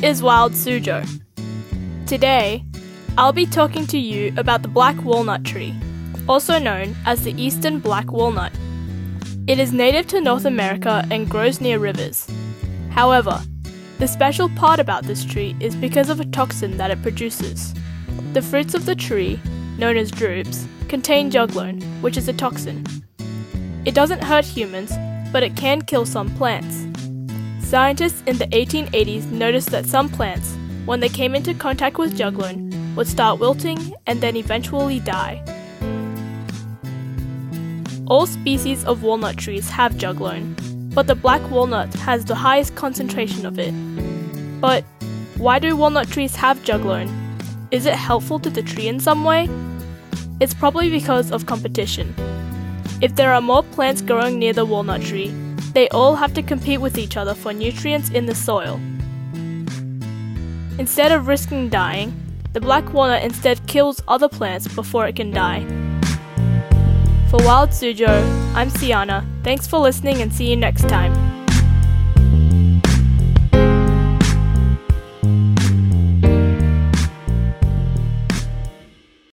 is Wild Suzhou. Today, I'll be talking to you about the black walnut tree, also known as the eastern black walnut. It is native to North America and grows near rivers. However, the special part about this tree is because of a toxin that it produces. The fruits of the tree, known as drupes, contain juglone, which is a toxin. It doesn't hurt humans, but it can kill some plants. Scientists in the 1880s noticed that some plants, when they came into contact with juglone, would start wilting and then eventually die. All species of walnut trees have juglone, but the black walnut has the highest concentration of it. But why do walnut trees have juglone? Is it helpful to the tree in some way? It's probably because of competition. If there are more plants growing near the walnut tree, they all have to compete with each other for nutrients in the soil. Instead of risking dying, the black walnut instead kills other plants before it can die. For Wild Suzhou, I'm Siana. Thanks for listening and see you next time.